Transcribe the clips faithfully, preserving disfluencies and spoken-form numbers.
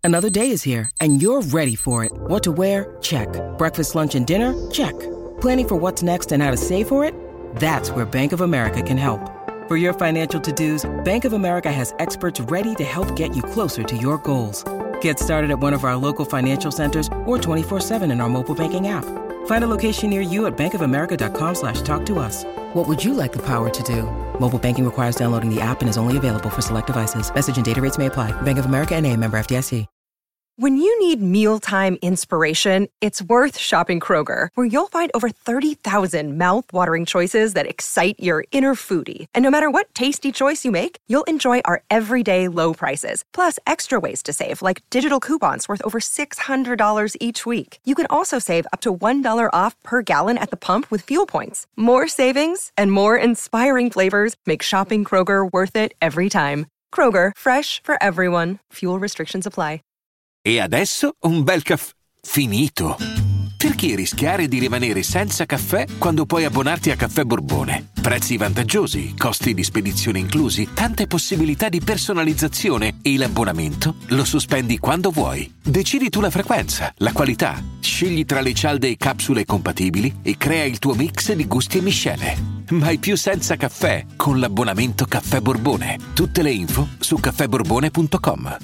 Another day is here, and you're ready for it. What to wear? Check. Breakfast, lunch, and dinner? Check. Planning for what's next and how to save for it? That's where Bank of America can help. For your financial to-dos, Bank of America has experts ready to help get you closer to your goals. Get started at one of our local financial centers or twenty-four seven in our mobile banking app. Find a location near you at bankofamerica.com slash talk to us. What would you like the power to do? Mobile banking requires downloading the app and is only available for select devices. Message and data rates may apply. Bank of America N A, member F D I C. When you need mealtime inspiration, it's worth shopping Kroger, where you'll find over thirty thousand mouth-watering choices that excite your inner foodie. And no matter what tasty choice you make, you'll enjoy our everyday low prices, plus extra ways to save, like digital coupons worth over six hundred dollars each week. You can also save up to one dollar off per gallon at the pump with fuel points. More savings and more inspiring flavors make shopping Kroger worth it every time. Kroger, fresh for everyone. Fuel restrictions apply. E adesso un bel caffè finito. Perché rischiare di rimanere senza caffè quando puoi abbonarti a Caffè Borbone? Prezzi vantaggiosi, costi di spedizione inclusi, tante possibilità di personalizzazione e l'abbonamento lo sospendi quando vuoi. Decidi tu la frequenza, la qualità, scegli tra le cialde e capsule compatibili e crea il tuo mix di gusti e miscele. Mai più senza caffè con l'abbonamento Caffè Borbone. Tutte le info su caffè borbone punto com.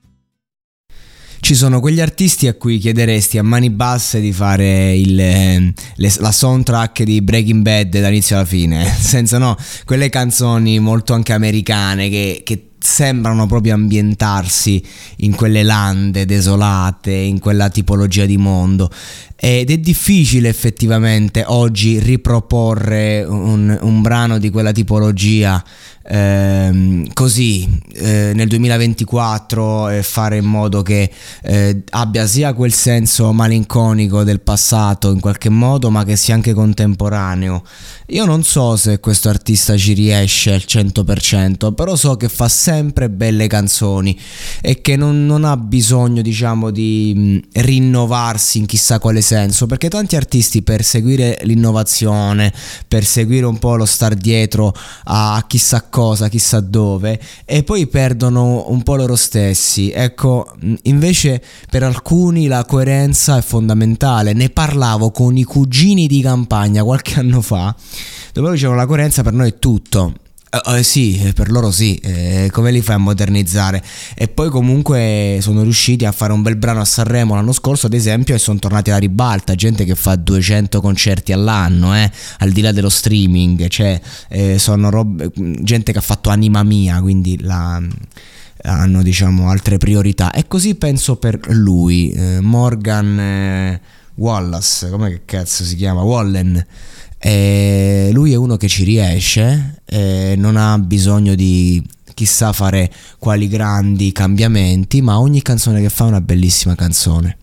Ci sono quegli artisti a cui chiederesti a mani basse di fare il, le, la soundtrack di Breaking Bad dall'inizio alla fine, senza no, quelle canzoni molto anche americane che, che sembrano proprio ambientarsi in quelle lande desolate, in quella tipologia di mondo. Ed è difficile effettivamente oggi riproporre un, un brano di quella tipologia ehm, così eh, nel duemilaventiquattro e fare in modo che eh, abbia sia quel senso malinconico del passato in qualche modo, ma che sia anche contemporaneo. Io non so se questo artista ci riesce al cento per cento, però so che fa sempre belle canzoni e che non, non ha bisogno, diciamo, di mh, rinnovarsi in chissà quale senso, perché tanti artisti, per seguire l'innovazione, per seguire un po' lo star dietro a chissà cosa, chissà dove, e poi perdono un po' loro stessi. Ecco, invece per alcuni la coerenza è fondamentale. Ne parlavo con i cugini di campagna qualche anno fa, dove dicevano la coerenza per noi è tutto. Uh, uh, sì, per loro sì, eh, come li fai a modernizzare? E poi comunque sono riusciti a fare un bel brano a Sanremo l'anno scorso, ad esempio, e sono tornati alla ribalta. Gente che fa duecento concerti all'anno, eh, al di là dello streaming, cioè eh, sono robe, gente che ha fatto Anima Mia, quindi la, hanno, diciamo, altre priorità. E così penso per lui, eh, Morgan eh, Wallace, come che cazzo si chiama? Wallen. E lui è uno che ci riesce, e non ha bisogno di chissà fare quali grandi cambiamenti, ma ogni canzone che fa è una bellissima canzone.